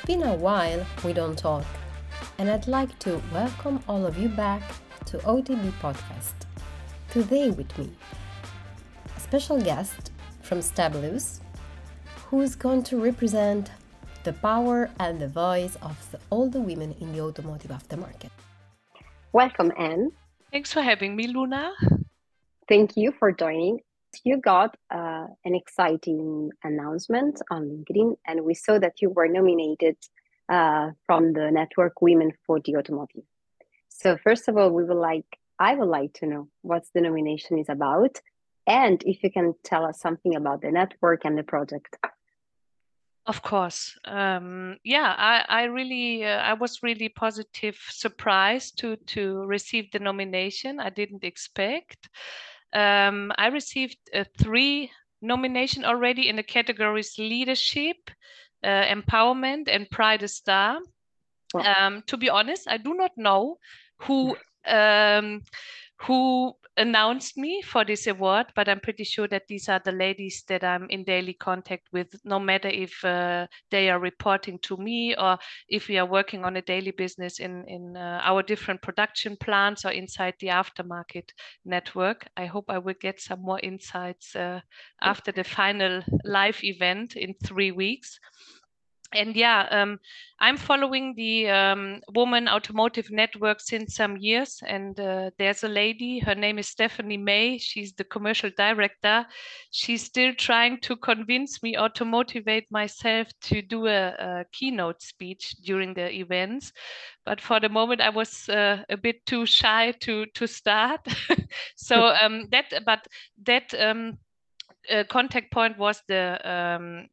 been a while we don't talk, and I'd like to welcome all of you back to OTB Podcast. Today with me, a special guest from Stabulous, who's going to represent the power and the voice of all the women in the automotive aftermarket. Welcome, Anne. Thanks for having me, Luna. Thank you for joining. You got an exciting announcement on LinkedIn, and we saw that you were nominated from the network Women for the Automotive. So first of all, I would like to know what the nomination is about, and if you can tell us something about the network and the project. Of course. I was really positive, surprised to receive the nomination. I didn't expect. I received 3 nominations already in the categories leadership, empowerment, and Pride Star. Wow. To be honest, I do not know who announced me for this award, but I'm pretty sure that these are the ladies that I'm in daily contact with, no matter if they are reporting to me or if we are working on a daily business in our different production plants or inside the aftermarket network. I hope I will get some more insights after the final live event in 3 weeks. And I'm following the Women Automotive Network since some years. And there's a lady, her name is Stephanie May. She's the commercial director. She's still trying to convince me or to motivate myself to do a keynote speech during the events. But for the moment, I was a bit too shy to start. So contact point was the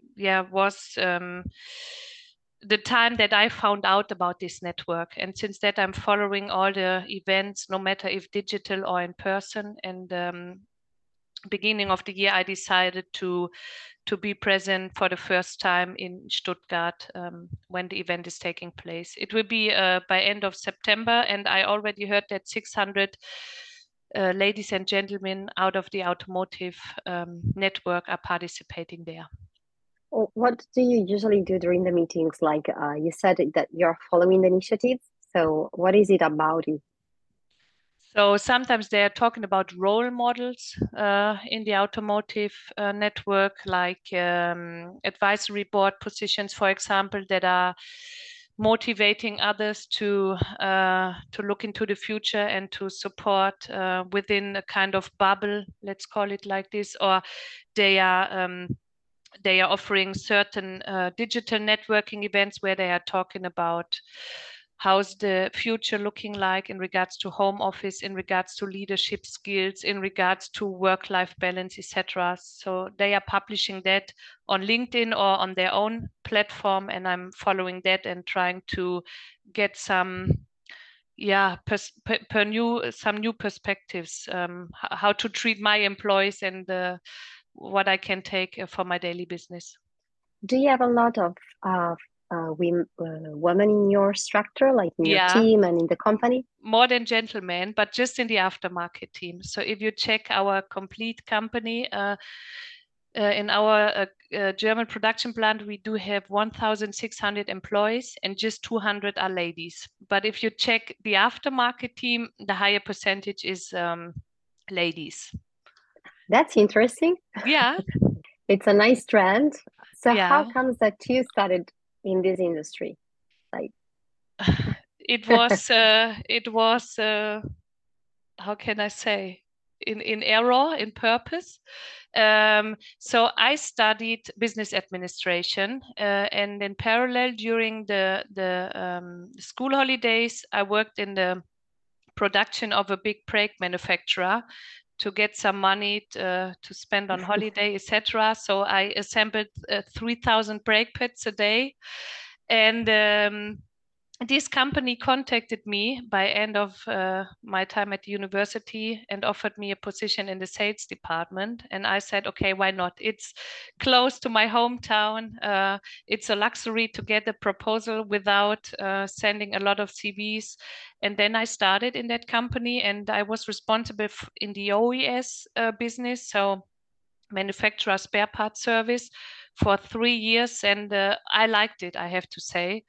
time that I found out about this network, and since that I'm following all the events, no matter if digital or in person. And beginning of the year, I decided to be present for the first time in Stuttgart when the event is taking place. It will be by end of September, and I already heard that 600 ladies and gentlemen out of the automotive network are participating there. What do you usually do during the meetings? Like you said that you're following the initiatives. So what is it about it? So sometimes they are talking about role models in the automotive network, like advisory board positions, for example, that are motivating others to look into the future and to support within a kind of bubble, let's call it like this, or they are offering certain digital networking events where they are talking about how's the future looking like in regards to home office, in regards to leadership skills, in regards to work-life balance, etc. So they are publishing that on LinkedIn or on their own platform, and I'm following that and trying to get some new perspectives, how to treat my employees and what I can take for my daily business. Do you have a lot of women in your structure, like in your team and in the company? More than gentlemen, but just in the aftermarket team. So if you check our complete company, in our German production plant, we do have 1,600 employees and just 200 are ladies. But if you check the aftermarket team, the higher percentage is ladies. That's interesting. Yeah. It's a nice trend. So how comes that you started in this industry? Like it was how can I say, in error, in purpose. So I studied business administration, and in parallel during the school holidays, I worked in the production of a big brake manufacturer to get some money to spend on holiday, etc. So I assembled 3,000 brake pads a day. And this company contacted me by end of my time at the university and offered me a position in the sales department. And I said, okay, why not? It's close to my hometown. It's a luxury to get a proposal without sending a lot of CVs. And then I started in that company, and I was responsible in the OES business, so manufacturer spare part service, for 3 years, and I liked it, I have to say.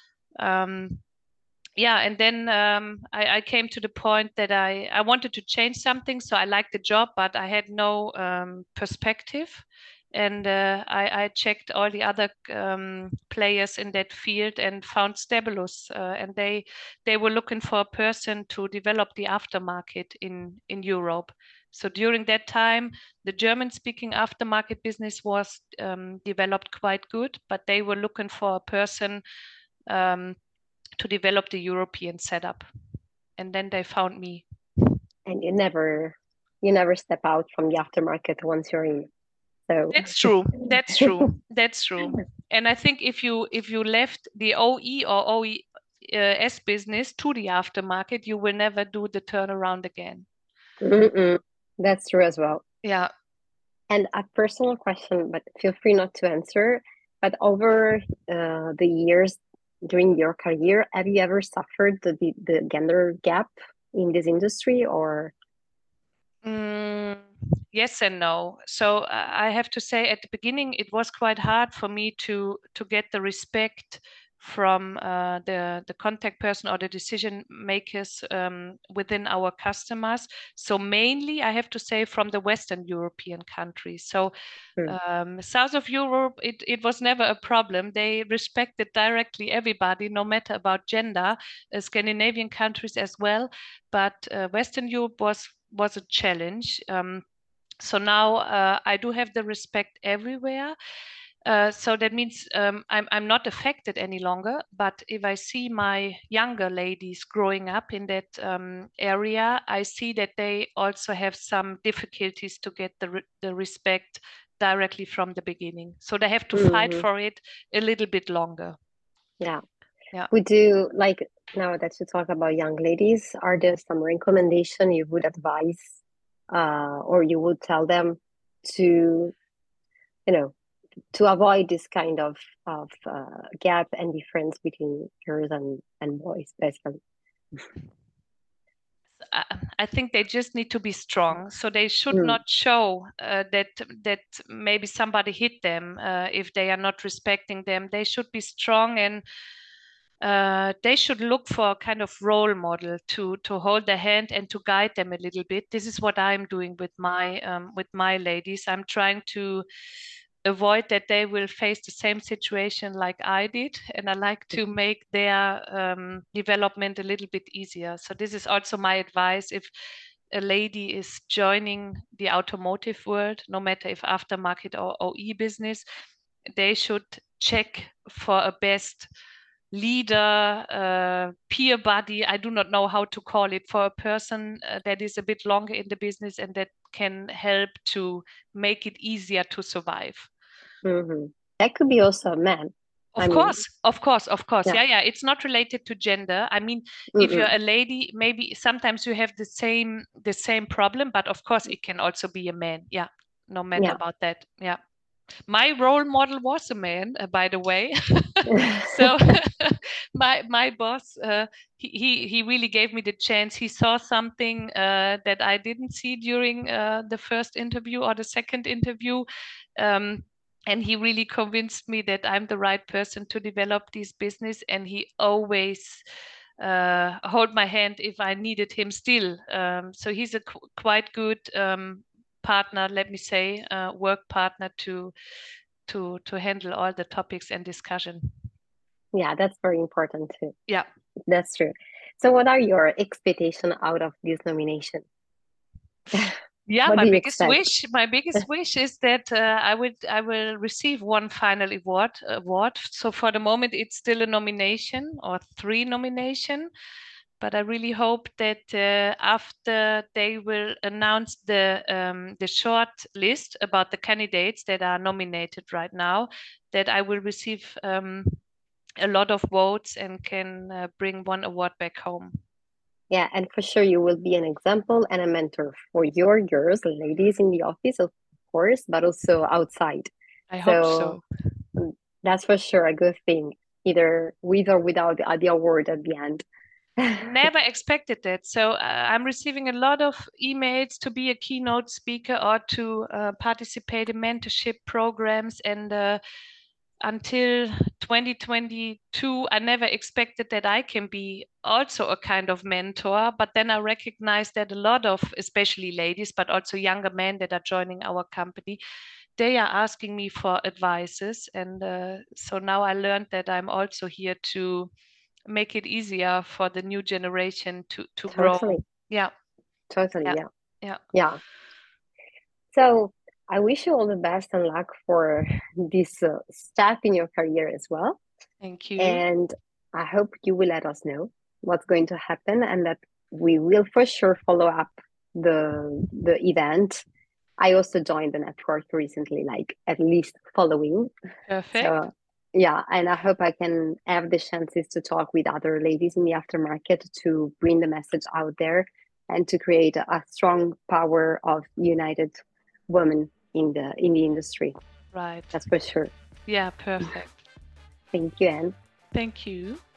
Yeah, and then I came to the point that I wanted to change something. So I liked the job, but I had no perspective. And I checked all the other players in that field and found Stabilus, and they were looking for a person to develop the aftermarket in Europe. So during that time, the German-speaking aftermarket business was developed quite good, but they were looking for a person to develop the European setup. And then they found me. And you never step out from the aftermarket once you're in. So that's true. That's true. That's true. And I think if you left the OE or OES business to the aftermarket, you will never do the turnaround again. That's true as well. Yeah. And a personal question, but feel free not to answer. But over the years during your career, have you ever suffered the gender gap in this industry, or? Yes and no. So I have to say, at the beginning, it was quite hard for me to get the respect from the contact person or the decision makers within our customers. So mainly, I have to say, from the Western European countries. So south of Europe, it was never a problem. They respected directly everybody, no matter about gender. Scandinavian countries as well, but Western Europe was a challenge. So now I do have the respect everywhere. So that means I'm not affected any longer. But if I see my younger ladies growing up in that area, I see that they also have some difficulties to get the respect directly from the beginning. So they have to fight for it a little bit longer. Yeah. Would you, like, now that you talk about young ladies, are there some recommendation you would advise or you would tell them to, to avoid this kind of gap and difference between girls and boys, basically? I think they just need to be strong. So they should not show that maybe somebody hit them if they are not respecting them. They should be strong, and they should look for a kind of role model to hold their hand and to guide them a little bit. This is what I'm doing with my ladies. I'm trying to avoid that they will face the same situation like I did, and I like to make their development a little bit easier. So this is also my advice. If a lady is joining the automotive world, no matter if aftermarket or OE business, they should check for a best leader, peer buddy, I do not know how to call it, for a person that is a bit longer in the business and that can help to make it easier to survive. That could be also a man. Of course. Yeah. It's not related to gender. I mean, if you're a lady, maybe sometimes you have the same problem, but of course it can also be a man. Yeah, no matter about that. Yeah. My role model was a man, by the way. So my boss, he really gave me the chance. He saw something that I didn't see during the first interview or the second interview. And he really convinced me that I'm the right person to develop this business. And he always hold my hand if I needed him still. So he's a quite good partner, let me say, work partner to handle all the topics and discussion. Yeah, that's very important too. Yeah, that's true. So what are your expectations out of this nomination? Yeah, my biggest wish is that I will receive one final award. So for the moment, it's still a nomination or 3 nominations. But I really hope that after they will announce the short list about the candidates that are nominated right now, that I will receive a lot of votes and can bring one award back home. Yeah, and for sure you will be an example and a mentor for your girls, ladies in the office, of course, but also outside. I hope so. That's for sure a good thing, either with or without the award at the end. never expected that. So I'm receiving a lot of emails to be a keynote speaker or to participate in mentorship programs. And until 2022, I never expected that I can be also a kind of mentor. But then I recognized that a lot of, especially ladies, but also younger men that are joining our company, they are asking me for advices. And so now I learned that I'm also here to make it easier for the new generation to grow. Totally. Yeah. Totally. Yeah. Yeah. Yeah. Yeah. So I wish you all the best and luck for this step in your career as well. Thank you. And I hope you will let us know what's going to happen, and that we will for sure follow up the event. I also joined the network recently, like at least following. Perfect. So yeah, and I hope I can have the chances to talk with other ladies in the aftermarket to bring the message out there and to create a strong power of united women in the industry. Right. That's for sure. Yeah, perfect. Thank you, Anne. Thank you.